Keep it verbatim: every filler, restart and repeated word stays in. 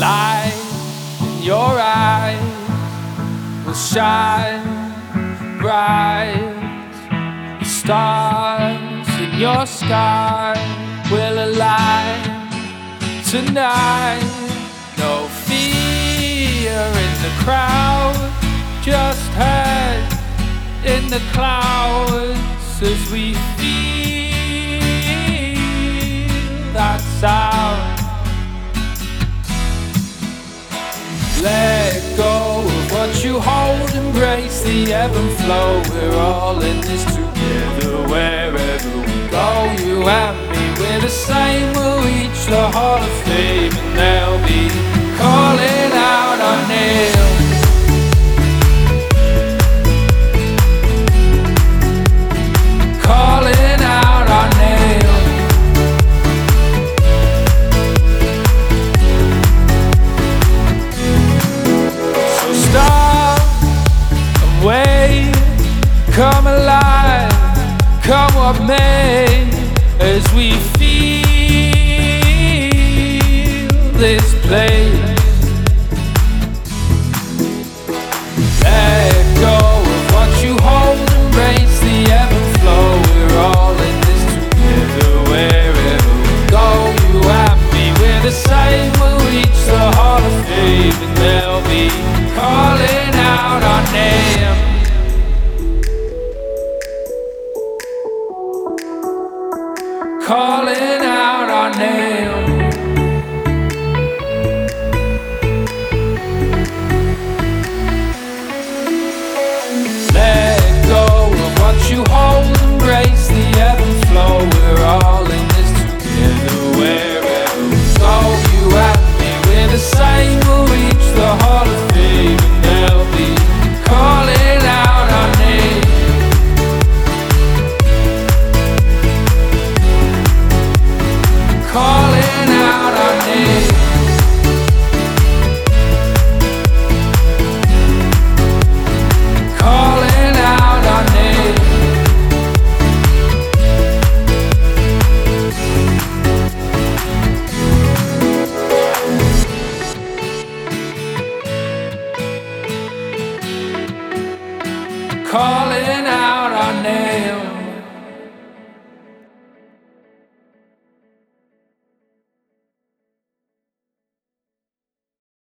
light in your eyes will shine bright. The stars in your sky will align tonight. No fear in the crowd, just head in the clouds as we feel that sound. Let go of what you hold, embrace the ebb and flow. We're all in this together, wherever we go. You and me, we're the same. We'll reach the Hall of Fame, and they'll be calling out our names. Calling out our names. So stop and wait, come alive, come what may, as we feel this place. Let go of what you hold, embrace the ebb and flow. We're all in this together, wherever we go. You and me, we're the same. We'll reach the Hall of Fame, and they'll be calling out our name. Calling out our name. Let go of what you hold, embrace the ebb and flow. We're all in this together, wherever we go. You and me, we're the same. We'll reach the Hall of Fame, and they'll be calling out our name. Calling out our name. Calling out our name. Calling out our name.